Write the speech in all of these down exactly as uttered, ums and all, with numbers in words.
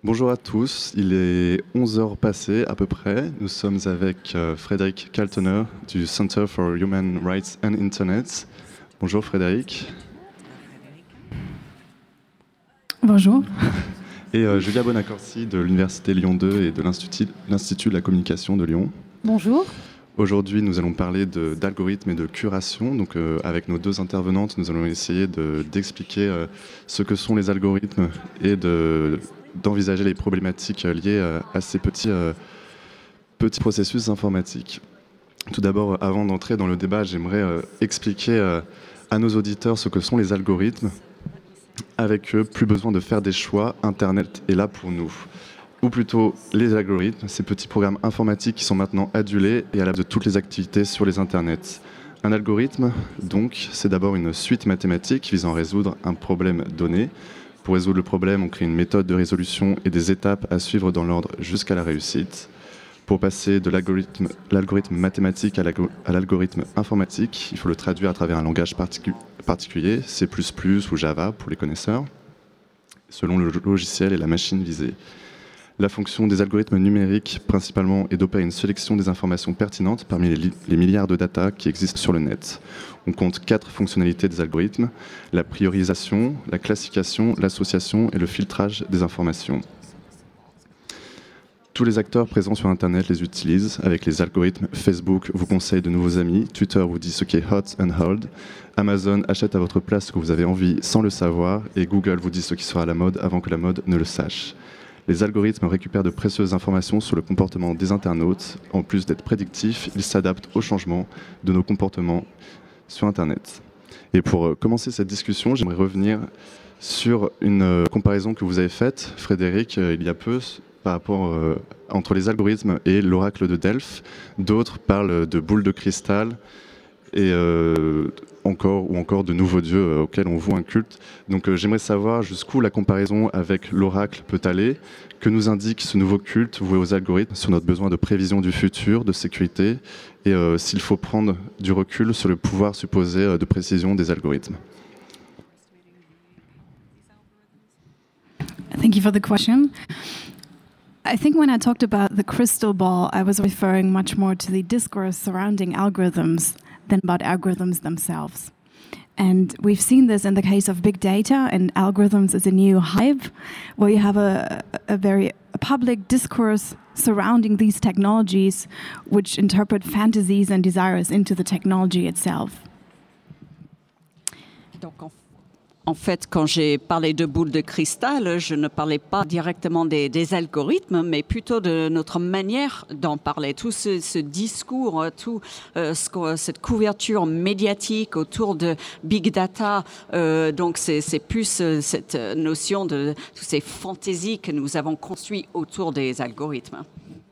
Bonjour à tous, il est onze heures passées à peu près. Nous sommes avec euh, Frédéric Kaltener du Center for Human Rights and Internet. Bonjour Frédéric. Bonjour. Et euh, Julia Bonaccorsi de l'Université Lyon deux et de l'Institut, l'Institut de la communication de Lyon. Bonjour. Aujourd'hui, nous allons parler de, d'algorithmes et de curation. Donc, euh, avec nos deux intervenantes, nous allons essayer de, d'expliquer euh, ce que sont les algorithmes et de, d'envisager les problématiques liées euh, à ces petits, euh, petits processus informatiques. Tout d'abord, avant d'entrer dans le débat, j'aimerais euh, expliquer euh, à nos auditeurs ce que sont les algorithmes. Avec eux, plus besoin de faire des choix, Internet est là pour nous. Ou plutôt les algorithmes, ces petits programmes informatiques qui sont maintenant adulés et à la base de toutes les activités sur les internets. Un algorithme, donc, c'est d'abord une suite mathématique visant à résoudre un problème donné. Pour résoudre le problème, on crée une méthode de résolution et des étapes à suivre dans l'ordre jusqu'à la réussite. Pour passer de l'algorithme, l'algorithme mathématique à, à l'algorithme informatique, il faut le traduire à travers un langage particu- particulier, C plus plus ou Java pour les connaisseurs, selon le logiciel et la machine visée. La fonction des algorithmes numériques, principalement, est d'opérer une sélection des informations pertinentes parmi les, li- les milliards de data qui existent sur le net. On compte quatre fonctionnalités des algorithmes: la priorisation, la classification, l'association et le filtrage des informations. Tous les acteurs présents sur Internet les utilisent avec les algorithmes. Facebook vous conseille de nouveaux amis, Twitter vous dit ce qui est hot and hold, Amazon achète à votre place ce que vous avez envie sans le savoir, et Google vous dit ce qui sera à la mode avant que la mode ne le sache. Les algorithmes récupèrent de précieuses informations sur le comportement des internautes. En plus d'être prédictifs, ils s'adaptent aux changements de nos comportements sur Internet. Et pour commencer cette discussion, j'aimerais revenir sur une comparaison que vous avez faite, Frédéric, il y a peu, par rapport euh, entre les algorithmes et l'oracle de Delphes. D'autres parlent de boules de cristal et euh, encore ou encore de nouveaux dieux euh, auxquels on voue un culte. Donc euh, j'aimerais savoir jusqu'où la comparaison avec l'oracle peut aller, que nous indique ce nouveau culte voué aux algorithmes sur notre besoin de prévision du futur, de sécurité, et euh, s'il faut prendre du recul sur le pouvoir supposé euh, de précision des algorithmes. Thank you for the question. I think when I talked about the crystal ball, I was referring much more to the discourse surrounding algorithms than about algorithms themselves. And we've seen this in the case of big data and algorithms as a new hype, where you have a, a very a public discourse surrounding these technologies, which interpret fantasies and desires into the technology itself. Donc, en En fait, quand j'ai parlé de boules de cristal, je ne parlais pas directement des, des algorithmes, mais plutôt de notre manière d'en parler. Tout ce, ce discours, tout euh, ce, cette couverture médiatique autour de big data, euh, donc c'est, c'est plus euh, cette notion de toutes ces fantaisies que nous avons construites autour des algorithmes.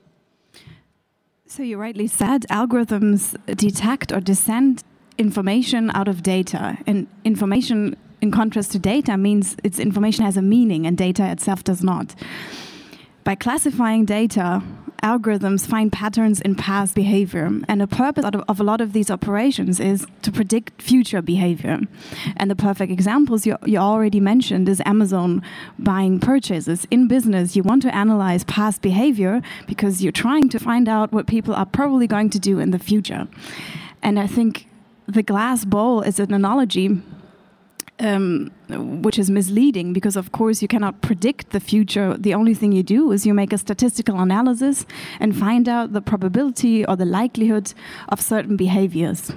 So you rightly said, algorithms detect or descend information out of data, and information, in contrast to data, means its information has a meaning and data itself does not. By classifying data, algorithms find patterns in past behavior, and the purpose of a lot of these operations is to predict future behavior. And the perfect examples you, you already mentioned is Amazon buying purchases. In business, you want to analyze past behavior because you're trying to find out what people are probably going to do in the future. And I think the glass bowl is an analogy Um, which is misleading, because of course you cannot predict the future. The only thing you do is you make a statistical analysis and find out the probability or the likelihood of certain behaviors.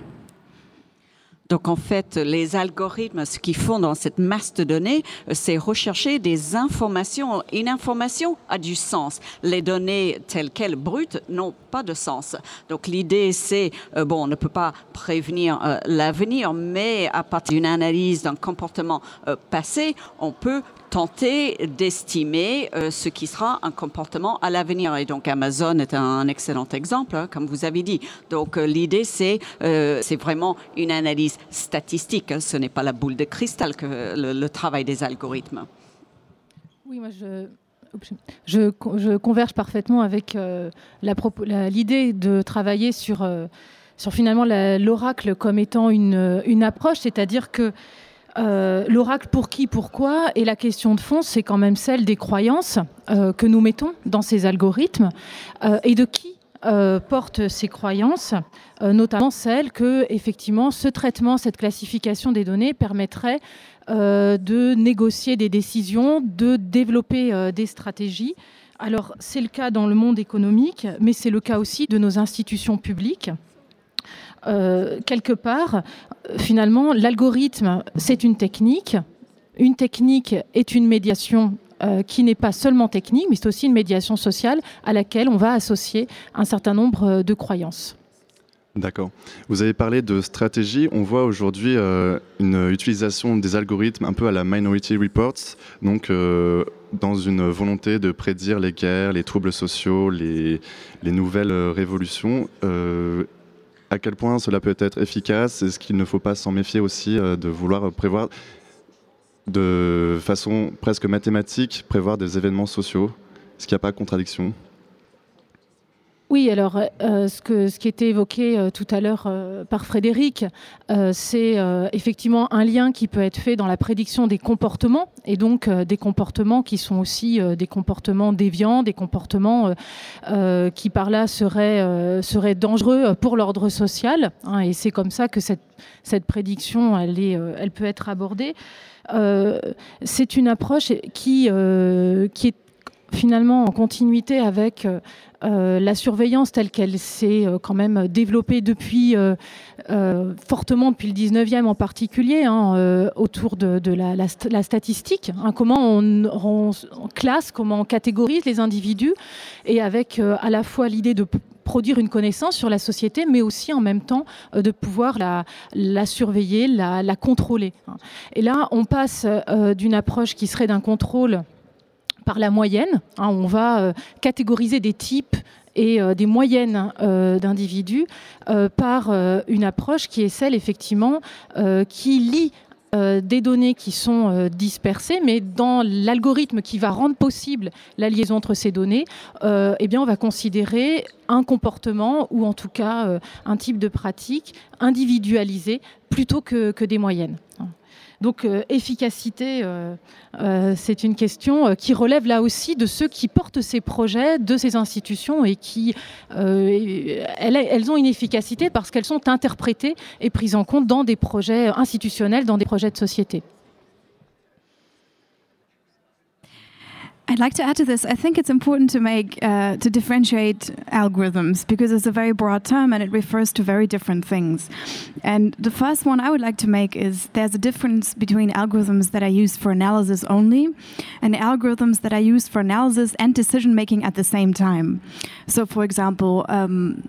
Donc en fait, les algorithmes, ce qu'ils font dans cette masse de données, c'est rechercher des informations. Une information a du sens. Les données telles quelles, brutes, n'ont pas de sens. Donc l'idée, c'est, euh, bon, on ne peut pas prévenir euh, l'avenir, mais à partir d'une analyse d'un comportement euh, passé, on peut tenter d'estimer euh, ce qui sera un comportement à l'avenir. Et donc Amazon est un excellent exemple, hein, comme vous avez dit. Donc euh, l'idée, c'est, euh, c'est vraiment une analyse statistique. Hein. Ce n'est pas la boule de cristal que le, le travail des algorithmes. Oui, moi je... Je, je converge parfaitement avec euh, la, la, l'idée de travailler sur, euh, sur finalement la, l'oracle comme étant une, une approche, c'est-à-dire que Euh, l'oracle pour qui, pourquoi, et la question de fond, c'est quand même celle des croyances euh, que nous mettons dans ces algorithmes euh, et de qui euh, portent ces croyances, euh, notamment celles que, effectivement, ce traitement, cette classification des données permettrait euh, de négocier des décisions, de développer euh, des stratégies. Alors, c'est le cas dans le monde économique, mais c'est le cas aussi de nos institutions publiques. Euh, quelque part, finalement, l'algorithme, c'est une technique. Une technique est une médiation euh, qui n'est pas seulement technique, mais c'est aussi une médiation sociale à laquelle on va associer un certain nombre de croyances. D'accord. Vous avez parlé de stratégie. On voit aujourd'hui euh, une utilisation des algorithmes un peu à la Minority Report, donc euh, dans une volonté de prédire les guerres, les troubles sociaux, les, les nouvelles révolutions. Euh, À quel point cela peut être efficace? Est-ce qu'il ne faut pas s'en méfier aussi euh, de vouloir prévoir de façon presque mathématique, prévoir des événements sociaux? Est-ce qu'il n'y a pas de contradiction? Oui, alors euh, ce, que, ce qui était évoqué euh, tout à l'heure euh, par Frédéric, euh, c'est euh, effectivement un lien qui peut être fait dans la prédiction des comportements, et donc euh, des comportements qui sont aussi euh, des comportements déviants, des comportements euh, euh, qui par là seraient, euh, seraient dangereux pour l'ordre social, hein, et c'est comme ça que cette, cette prédiction, elle, est, euh, elle peut être abordée. Euh, c'est une approche qui, euh, qui est finalement en continuité avec euh, la surveillance telle qu'elle s'est euh, quand même développée depuis euh, euh, fortement depuis le dix-neuvième en particulier, hein, euh, autour de, de la, la, la statistique, hein, comment on, on, on classe, comment on catégorise les individus, et avec euh, à la fois l'idée de produire une connaissance sur la société, mais aussi en même temps euh, de pouvoir la, la surveiller, la, la contrôler. Et là, on passe euh, d'une approche qui serait d'un contrôle par la moyenne, hein, on va euh, catégoriser des types et euh, des moyennes euh, d'individus euh, par euh, une approche qui est celle effectivement euh, qui lie euh, des données qui sont euh, dispersées, mais dans l'algorithme qui va rendre possible la liaison entre ces données, euh, eh bien on va considérer un comportement ou en tout cas euh, un type de pratique individualisé plutôt que, que des moyennes. Donc euh, efficacité, euh, euh, c'est une question euh, qui relève là aussi de ceux qui portent ces projets, de ces institutions, et qui, euh, elles, elles ont une efficacité parce qu'elles sont interprétées et prises en compte dans des projets institutionnels, dans des projets de société. I'd like to add to this. I think it's important to make uh, to differentiate algorithms because it's a very broad term and it refers to very different things. And the first one I would like to make is there's a difference between algorithms that are used for analysis only and algorithms that are used for analysis and decision making at the same time. So, for example, um,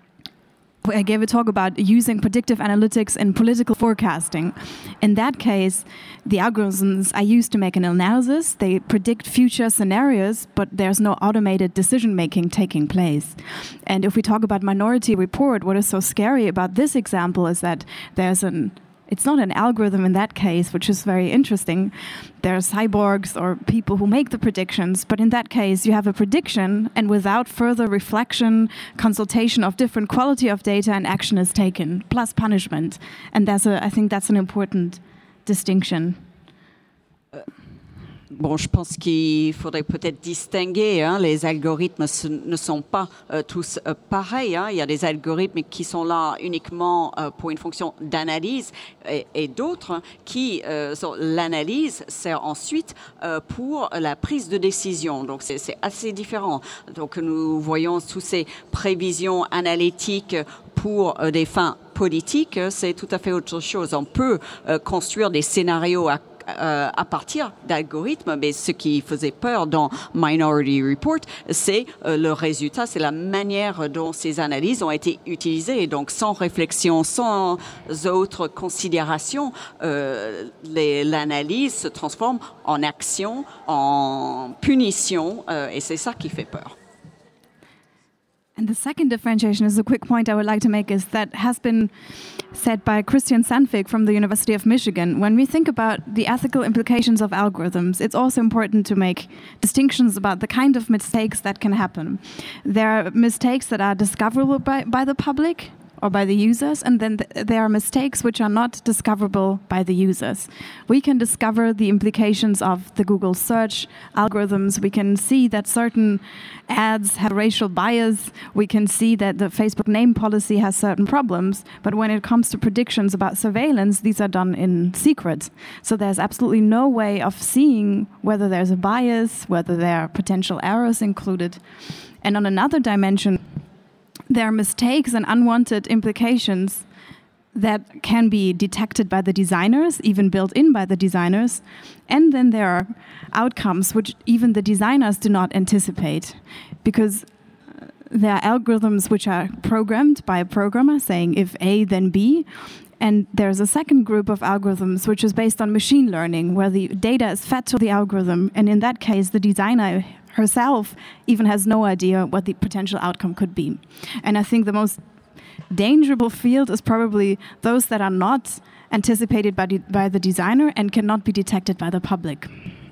I gave a talk about using predictive analytics in political forecasting. In that case, the algorithms are used to make an analysis. They predict future scenarios, but there's no automated decision-making taking place. And if we talk about Minority Report, what is so scary about this example is that there's an It's not an algorithm in that case, which is very interesting. There are cyborgs or people who make the predictions, but in that case, you have a prediction, and without further reflection, consultation of different quality of data, and action is taken, plus punishment. And that's a, I think that's an important distinction. Uh. Bon, je pense qu'il faudrait peut-être distinguer, hein, les algorithmes ce, ne sont pas euh, tous euh, pareils, hein. Il y a des algorithmes qui sont là uniquement euh, pour une fonction d'analyse et, et d'autres qui, euh, sont, l'analyse sert ensuite euh, pour la prise de décision. Donc, c'est, c'est assez différent. Donc, nous voyons toutes ces prévisions analytiques pour euh, des fins politiques, c'est tout à fait autre chose. On peut euh, construire des scénarios à Euh, à partir d'algorithmes, mais ce qui faisait peur dans Minority Report, c'est euh, le résultat, c'est la manière dont ces analyses ont été utilisées. Donc, sans réflexion, sans autres considérations, euh, les, l'analyse se transforme en action, en punition, euh, et c'est ça qui fait peur. And the second differentiation is a quick point I would like to make is that has been said by Christian Sandvik from the University of Michigan. When we think about the ethical implications of algorithms, it's also important to make distinctions about the kind of mistakes that can happen. There are mistakes that are discoverable by, by the public, or by the users, and then th- there are mistakes which are not discoverable by the users. We can discover the implications of the Google search algorithms. We can see that certain ads have racial bias. We can see that the Facebook name policy has certain problems. But when it comes to predictions about surveillance, these are done in secret. So there's absolutely no way of seeing whether there's a bias, whether there are potential errors included. And on another dimension, there are mistakes and unwanted implications that can be detected by the designers, even built in by the designers. And then there are outcomes which even the designers do not anticipate, because there are algorithms which are programmed by a programmer saying if A, then B. And there's a second group of algorithms which is based on machine learning, where the data is fed to the algorithm. And in that case, the designer herself even has no idea what the potential outcome could be. And I think the most dangerous field is probably those that are not anticipated by, de- by the designer and cannot be detected by the public.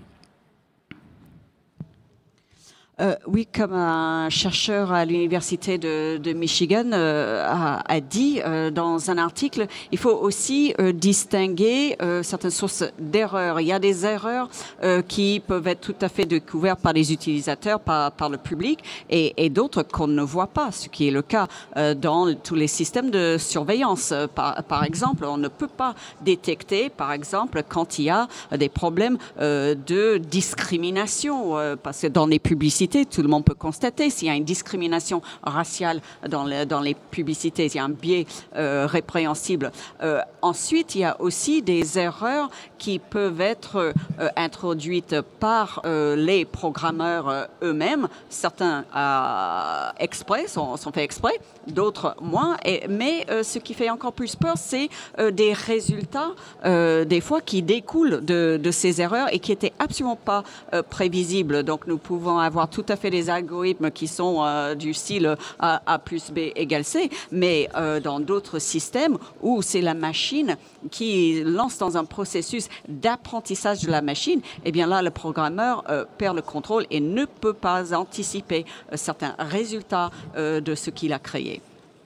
Euh, oui, comme un chercheur à l'université de, de Michigan euh, a, a dit euh, dans un article, il faut aussi euh, distinguer euh, certaines sources d'erreurs. Il y a des erreurs euh, qui peuvent être tout à fait découvertes par les utilisateurs, par, par le public, et, et d'autres qu'on ne voit pas, ce qui est le cas euh, dans tous les systèmes de surveillance. Par, par exemple, on ne peut pas détecter, par exemple, quand il y a des problèmes euh, de discrimination, euh, parce que dans les publicités, tout le monde peut constater s'il y a une discrimination raciale dans, le, dans les publicités, s'il y a un biais euh, répréhensible. Euh, ensuite, il y a aussi des erreurs qui peuvent être euh, introduites par euh, les programmeurs euh, eux-mêmes. Certains euh, exprès, sont, sont faits exprès, d'autres moins. Et, mais euh, ce qui fait encore plus peur, c'est euh, des résultats, euh, des fois, qui découlent de, de ces erreurs et qui n'étaient absolument pas euh, prévisibles. Donc, nous pouvons avoir tout à fait des algorithmes qui sont euh, du style A, A plus B égale C, mais euh, dans d'autres systèmes où c'est la machine qui lance dans un processus d'apprentissage de la machine, eh bien là, le programmeur euh, perd le contrôle et ne peut pas anticiper euh, certains résultats euh, de ce qu'il a créé.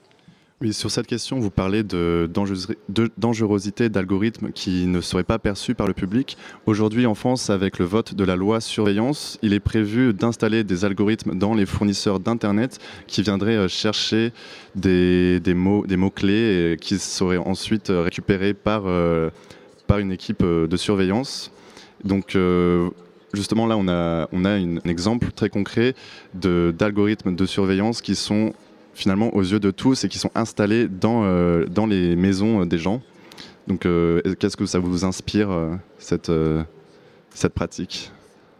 Oui, sur cette question, vous parlez de, de dangerosité d'algorithmes qui ne seraient pas perçus par le public. Aujourd'hui, en France, avec le vote de la loi surveillance, il est prévu d'installer des algorithmes dans les fournisseurs d'Internet qui viendraient chercher des, des, mots, des mots-clés et qui seraient ensuite récupérés par, euh, par une équipe de surveillance. Donc, euh, justement, là, on a, on a une, un exemple très concret de, d'algorithmes de surveillance qui sont finalement aux yeux de tous et qui sont installés dans, euh, dans les maisons des gens. Donc euh, qu'est-ce que ça vous inspire, euh, cette, euh, cette pratique peut-être ?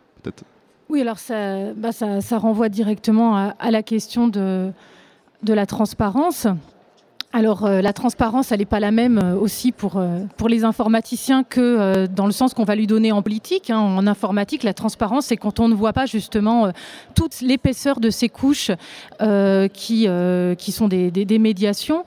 Oui, alors ça, bah ça, ça renvoie directement à, à la question de, de la transparence. Alors euh, la transparence, elle n'est pas la même euh, aussi pour, euh, pour les informaticiens que euh, dans le sens qu'on va lui donner en politique. Hein. En informatique, la transparence, c'est quand on ne voit pas justement euh, toute l'épaisseur de ces couches euh, qui, euh, qui sont des, des, des médiations.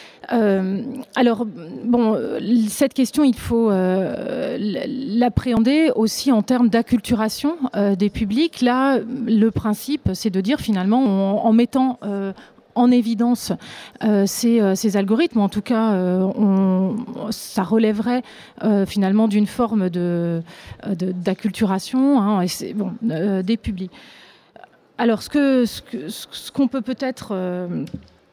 Euh, alors, bon, cette question, il faut euh, l'appréhender aussi en termes d'acculturation euh, des publics. Là, le principe, c'est de dire finalement, en, en mettant euh, en évidence euh, ces, euh, ces algorithmes, en tout cas, euh, on, ça relèverait euh, finalement d'une forme de, de, d'acculturation hein, et c'est, bon, euh, des publics. Alors, ce, que, ce, que, ce qu'on peut peut-être euh,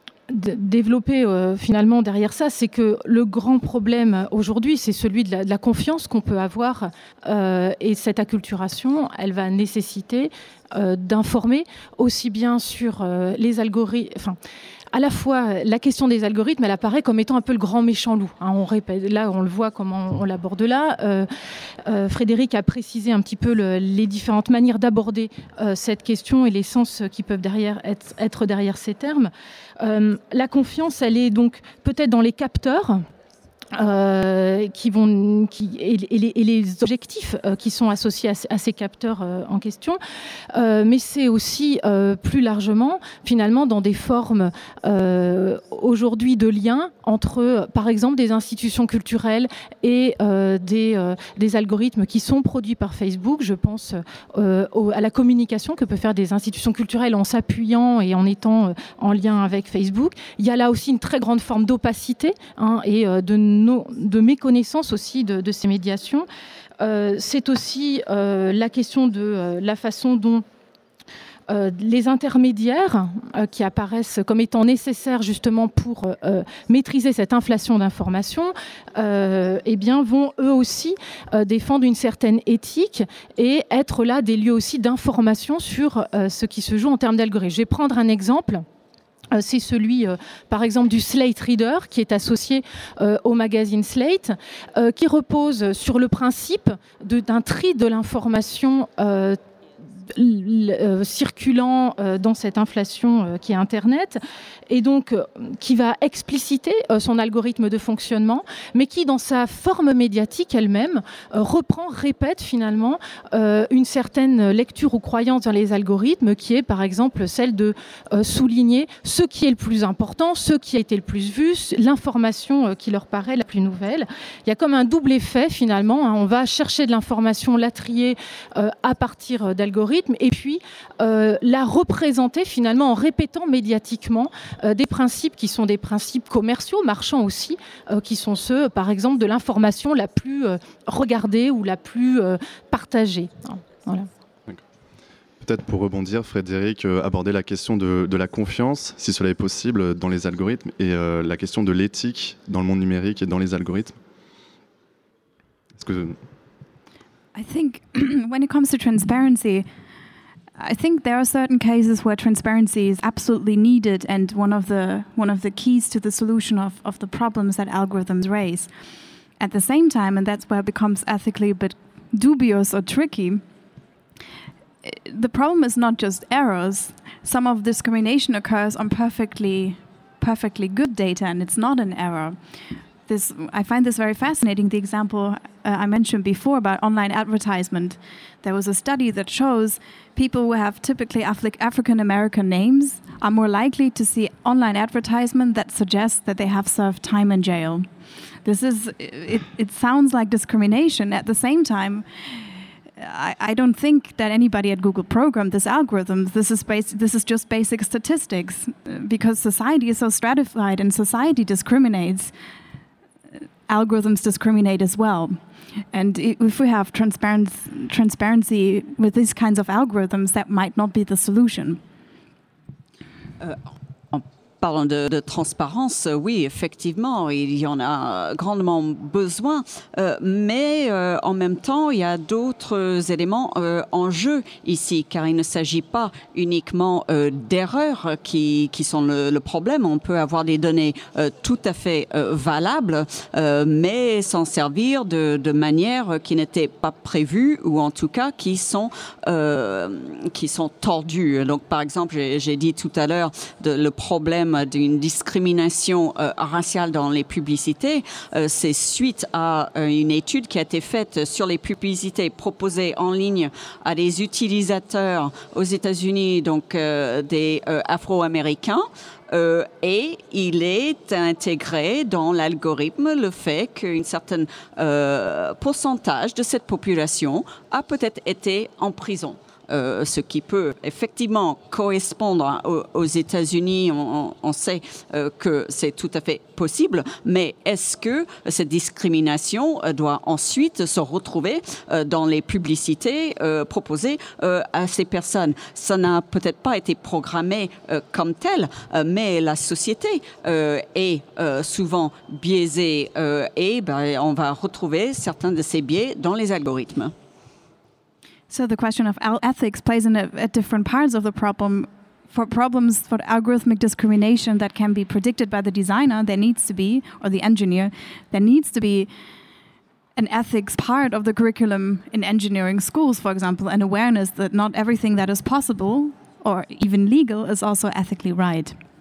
d- développer euh, finalement derrière ça, c'est que le grand problème aujourd'hui, c'est celui de la, de la confiance qu'on peut avoir euh, et cette acculturation, elle va nécessiter Euh, d'informer aussi bien sur euh, les algorithmes, enfin, à la fois la question des algorithmes, elle apparaît comme étant un peu le grand méchant loup. Hein, on répète, là, on le voit comment on, on l'aborde là. Euh, euh, Frédéric a précisé un petit peu le, les différentes manières d'aborder euh, cette question et les sens qui peuvent derrière être, être derrière ces termes. Euh, la confiance, elle est donc peut-être dans les capteurs. Euh, qui vont, qui, et, et, les, et les objectifs euh, qui sont associés à, à ces capteurs euh, en question, euh, mais c'est aussi euh, plus largement finalement dans des formes euh, aujourd'hui de liens entre par exemple des institutions culturelles et euh, des, euh, des algorithmes qui sont produits par Facebook. Je pense euh, au, à la communication que peuvent faire des institutions culturelles en s'appuyant et en étant euh, en lien avec Facebook. Il y a là aussi une très grande forme d'opacité hein, et euh, de de méconnaissance aussi de, de ces médiations. Euh, c'est aussi euh, la question de euh, la façon dont euh, les intermédiaires euh, qui apparaissent comme étant nécessaires justement pour euh, maîtriser cette inflation d'informations euh, eh bien, vont eux aussi euh, défendre une certaine éthique et être là des lieux aussi d'information sur euh, ce qui se joue en termes d'algorithmes. Je vais prendre un exemple. C'est celui, euh, par exemple, du Slate Reader, qui est associé euh, au magazine Slate, euh, qui repose sur le principe de, d'un tri de l'information euh, Euh, circulant euh, dans cette inflation euh, qui est Internet, et donc euh, qui va expliciter euh, son algorithme de fonctionnement, mais qui, dans sa forme médiatique elle-même, euh, reprend, répète finalement euh, une certaine lecture ou croyance dans les algorithmes, qui est par exemple celle de euh, souligner ce qui est le plus important, ce qui a été le plus vu, l'information euh, qui leur paraît la plus nouvelle. Il y a comme un double effet finalement, hein. On va chercher de l'information, la trier euh, à partir euh, d'algorithmes, et puis euh, la représenter finalement en répétant médiatiquement euh, des principes qui sont des principes commerciaux, marchands aussi, euh, qui sont ceux, par exemple, de l'information la plus euh, regardée ou la plus euh, partagée. Voilà. Peut-être pour rebondir, Frédéric, euh, aborder la question de, de la confiance, si cela est possible, dans les algorithmes, et euh, la question de l'éthique dans le monde numérique et dans les algorithmes. Est-ce que... I think when it comes to transparency, I think there are certain cases where transparency is absolutely needed and one of the one of the keys to the solution of, of the problems that algorithms raise. At the same time, and that's where it becomes ethically a bit dubious or tricky, the problem is not just errors. Some of discrimination occurs on perfectly perfectly good data, and it's not an error. This, I find this very fascinating, the example uh, I mentioned before about online advertisement. There was a study that shows people who have typically Afri- African-American names are more likely to see online advertisement that suggests that they have served time in jail. This is, it, it sounds like discrimination. At the same time, I, I don't think that anybody at Google programmed this algorithm. This is bas- this is just basic statistics, because society is so stratified and society discriminates. Algorithms discriminate as well. And if we have transparency, transparency with these kinds of algorithms, that might not be the solution. Uh, Parlant de, de transparence, oui, effectivement, il y en a grandement besoin, euh, mais euh, en même temps, il y a d'autres éléments euh, en jeu ici, car il ne s'agit pas uniquement euh, d'erreurs qui, qui sont le, le problème. On peut avoir des données euh, tout à fait euh, valables, euh, mais s'en servir de, de manière qui n'était pas prévue, ou en tout cas qui sont, euh, qui sont tordues. Donc, par exemple, j'ai, j'ai dit tout à l'heure de, le problème d'une discrimination euh, raciale dans les publicités, euh, c'est suite à euh, une étude qui a été faite sur les publicités proposées en ligne à des utilisateurs aux États-Unis, donc euh, des euh, Afro-Américains. Euh, et il est intégré dans l'algorithme le fait qu'un certain euh, pourcentage de cette population a peut-être été en prison. Euh, ce qui peut effectivement correspondre aux, aux États-Unis. On, on sait euh, que c'est tout à fait possible, mais est-ce que cette discrimination euh, doit ensuite se retrouver euh, dans les publicités euh, proposées euh, à ces personnes? Ça n'a peut-être pas été programmé euh, comme tel, euh, mais la société euh, est euh, souvent biaisée euh, et ben, on va retrouver certains de ces biais dans les algorithmes. So the question of ethics plays in a, at different parts of the problem. For problems for algorithmic discrimination that can be predicted by the designer, there needs to be, or the engineer, there needs to be an ethics part of the curriculum in engineering schools, for example, an awareness that not everything that is possible or even legal is also ethically right.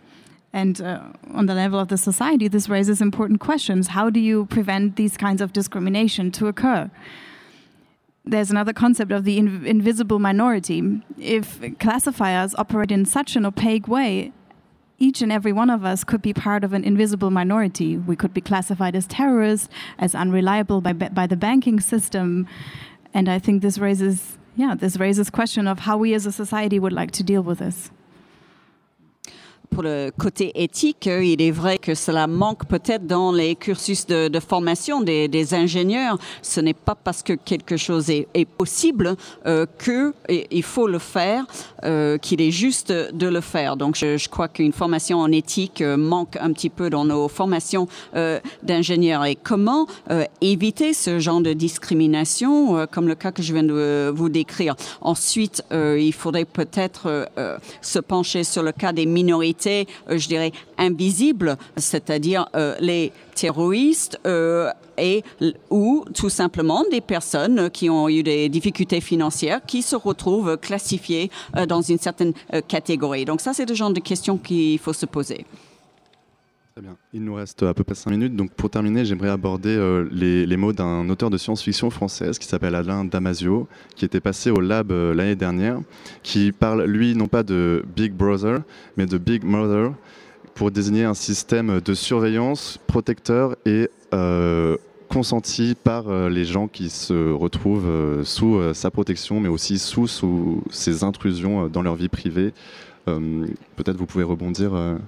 And uh, on the level of the society, this raises important questions. How do you prevent these kinds of discrimination to occur? There's another concept of the inv- invisible minority. If classifiers operate in such an opaque way, each and every one of us could be part of an invisible minority. We could be classified as terrorists, as unreliable by, by the banking system. And I think this raises, yeah, this raises question of how we as a society would like to deal with this. Pour le côté éthique, il est vrai que cela manque peut-être dans les cursus de, de formation des, des ingénieurs. Ce n'est pas parce que quelque chose est, est possible euh, qu'il faut le faire, euh, qu'il est juste de le faire. Donc je, je crois qu'une formation en éthique euh, manque un petit peu dans nos formations euh, d'ingénieurs. Et comment euh, éviter ce genre de discrimination, euh, comme le cas que je viens de vous décrire. Ensuite, euh, il faudrait peut-être euh, se pencher sur le cas des minorités, Euh, je dirais, invisibles, c'est-à-dire euh, les terroristes euh, et, ou tout simplement des personnes qui ont eu des difficultés financières qui se retrouvent classifiées euh, dans une certaine euh, catégorie. Donc ça, c'est le genre de questions qu'il faut se poser. Très bien. Il nous reste à peu près cinq minutes. Donc pour terminer, j'aimerais aborder euh, les, les mots d'un auteur de science-fiction française qui s'appelle Alain Damasio, qui était passé au Lab euh, l'année dernière, qui parle, lui, non pas de Big Brother, mais de Big Mother, pour désigner un système de surveillance protecteur et euh, consenti par euh, les gens qui se retrouvent euh, sous euh, sa protection, mais aussi sous, sous ses intrusions euh, dans leur vie privée. Euh, peut-être vous pouvez rebondir euh,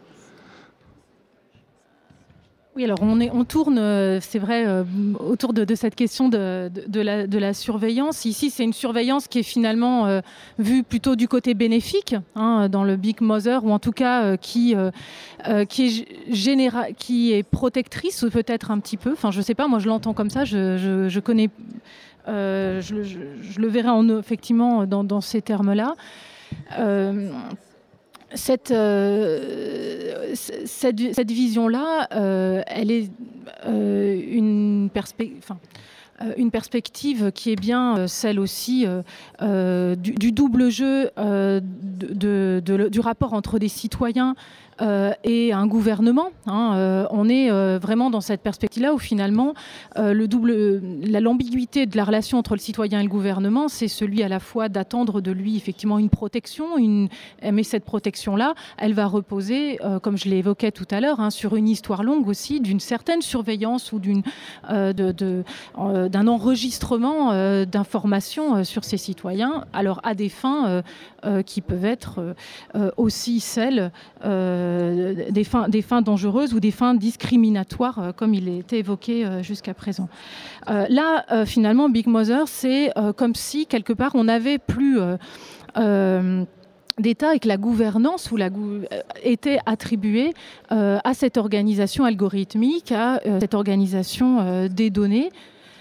Oui, alors on, est, on tourne, euh, c'est vrai, euh, autour de, de cette question de, de, de, la, de la surveillance. Ici, c'est une surveillance qui est finalement euh, vue plutôt du côté bénéfique, hein, dans le Big Mother, ou en tout cas euh, qui, euh, euh, qui, est généra- qui est protectrice, ou peut-être un petit peu. Enfin, je ne sais pas, moi je l'entends comme ça, je, je, je connais, euh, je, je, je le verrai en, effectivement dans, dans ces termes-là. Euh, Cette, euh, cette, cette vision-là, euh, elle est euh, une, perspe- enfin, euh, une perspective qui est bien euh, celle aussi euh, euh, du, du double jeu euh, de, de, de, du rapport entre des citoyens Euh, et un gouvernement. Hein, euh, on est euh, vraiment dans cette perspective-là où finalement euh, le double, la, l'ambiguïté de la relation entre le citoyen et le gouvernement, c'est celui à la fois d'attendre de lui effectivement une protection, une, mais cette protection-là, elle va reposer, euh, comme je l'évoquais tout à l'heure, hein, sur une histoire longue aussi d'une certaine surveillance ou d'une, euh, de, de, euh, d'un enregistrement euh, d'informations euh, sur ces citoyens, alors à des fins euh, euh, qui peuvent être euh, aussi celles euh, Des fins, des fins dangereuses ou des fins discriminatoires, euh, comme il était évoqué euh, jusqu'à présent. Euh, là, euh, finalement, Big Mother, c'est euh, comme si, quelque part, on n'avait plus euh, euh, d'État et que la gouvernance ou la gou- était attribuée euh, à cette organisation algorithmique, à euh, cette organisation euh, des données,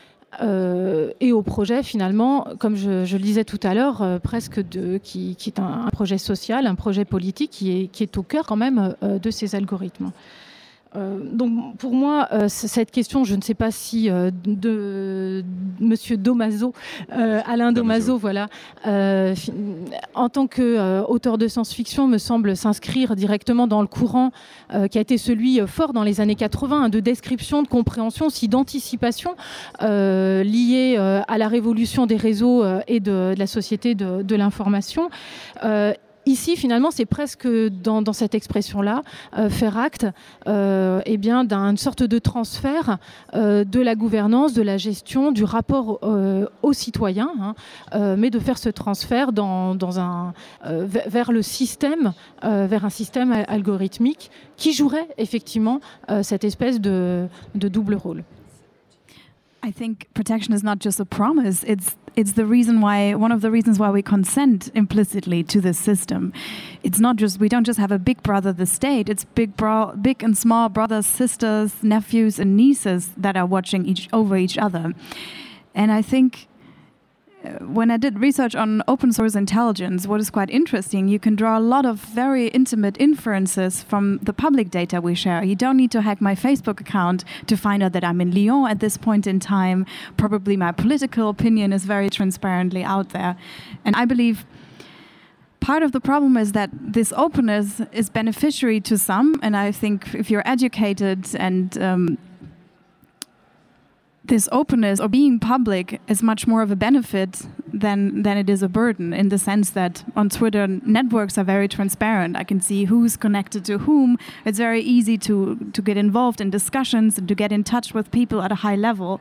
Euh, et au projet finalement, comme je, je le disais tout à l'heure, euh, presque de, qui, qui est un, un projet social, un projet politique qui est, qui est au cœur quand même euh, de ces algorithmes. Euh, donc pour moi, euh, cette question, je ne sais pas si euh, de Monsieur Domaso, euh, Alain Domaso, voilà, euh, en tant qu'auteur euh, de science-fiction, me semble s'inscrire directement dans le courant euh, qui a été celui euh, fort dans les années quatre-vingts, hein, de description, de compréhension, aussi d'anticipation euh, liée euh, à la révolution des réseaux euh, et de, de la société de, de l'information. Euh, Ici, finalement, c'est presque dans, dans cette expression-là, euh, faire acte euh, eh bien, d'une sorte de transfert euh, de la gouvernance, de la gestion, du rapport euh, aux citoyens, hein, euh, mais de faire ce transfert dans, dans un, euh, vers le système, euh, vers un système algorithmique qui jouerait effectivement euh, cette espèce de, de double rôle. I think protection is not just a promise, it's it's the reason why, one of the reasons why we consent implicitly to this system. It's not just, we don't just have a big brother, the state, it's big bro- big and small brothers, sisters, nephews and nieces that are watching each over each other. And I think when I did research on open source intelligence, what is quite interesting, you can draw a lot of very intimate inferences from the public data we share. You don't need to hack my Facebook account to find out that I'm in Lyon at this point in time. Probably my political opinion is very transparently out there. And I believe part of the problem is that this openness is beneficiary to some, and I think if you're educated and um, this openness or being public is much more of a benefit than than it is a burden, in the sense that on Twitter, networks are very transparent. I can see who's connected to whom. It's very easy to, to get involved in discussions and to get in touch with people at a high level.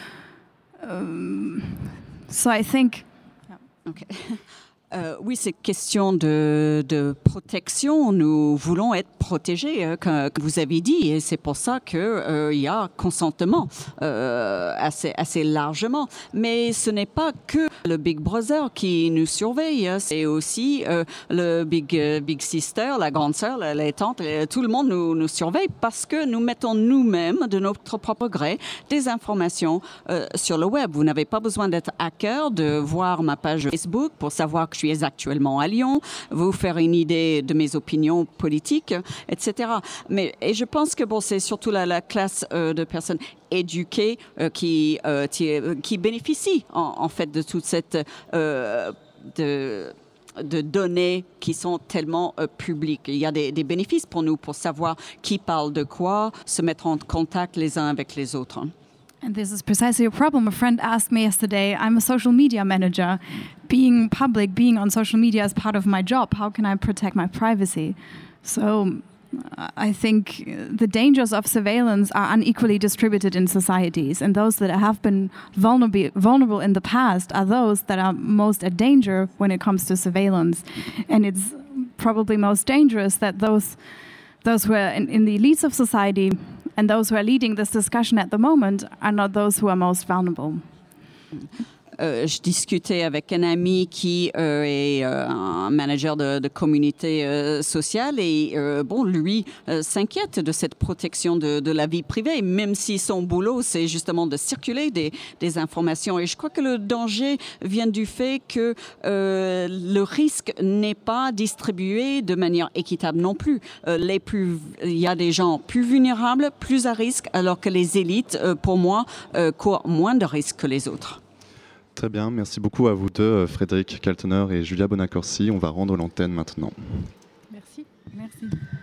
Um, so I think... Yeah. Okay. Euh, oui, c'est question de, de protection. Nous voulons être protégés, euh, comme vous avez dit, et c'est pour ça qu'il euh, y a consentement euh, assez, assez largement. Mais ce n'est pas que le Big Brother qui nous surveille, c'est aussi euh, le Big, euh, Big Sister, la grande sœur, la, les tantes, les, tout le monde nous, nous surveille parce que nous mettons nous-mêmes, de notre propre gré, des informations euh, sur le web. Vous n'avez pas besoin d'être hacker, de voir ma page Facebook pour savoir que je suis actuellement à Lyon, vous faire une idée de mes opinions politiques, et cetera. Mais et je pense que bon, c'est surtout la, la classe euh, de personnes éduquées euh, qui, euh, qui, qui bénéficient en, en fait de toute cette euh, de, de données qui sont tellement euh, publiques. Il y a des, des bénéfices pour nous pour savoir qui parle de quoi, se mettre en contact les uns avec les autres. And this is precisely a problem. A friend asked me yesterday, I'm a social media manager. Being public, being on social media is part of my job. How can I protect my privacy? So I think the dangers of surveillance are unequally distributed in societies. And those that have been vulnerable, vulnerable in the past are those that are most at danger when it comes to surveillance. And it's probably most dangerous that those, those who are in, in the elites of society and those who are leading this discussion at the moment are not those who are most vulnerable. Euh, je discutais avec un ami qui euh, est euh, un manager de, de communauté euh, sociale et euh, bon, lui euh, s'inquiète de cette protection de, de la vie privée, même si son boulot c'est justement de circuler des, des informations. Et je crois que le danger vient du fait que euh, le risque n'est pas distribué de manière équitable non plus. Euh, les plus, il y a des gens plus vulnérables, plus à risque, alors que les élites, euh, pour moi, euh, courent moins de risques que les autres. Très bien, merci beaucoup à vous deux, Frédéric Kaltener et Julia Bonaccorsi. On va rendre l'antenne maintenant. Merci. Merci.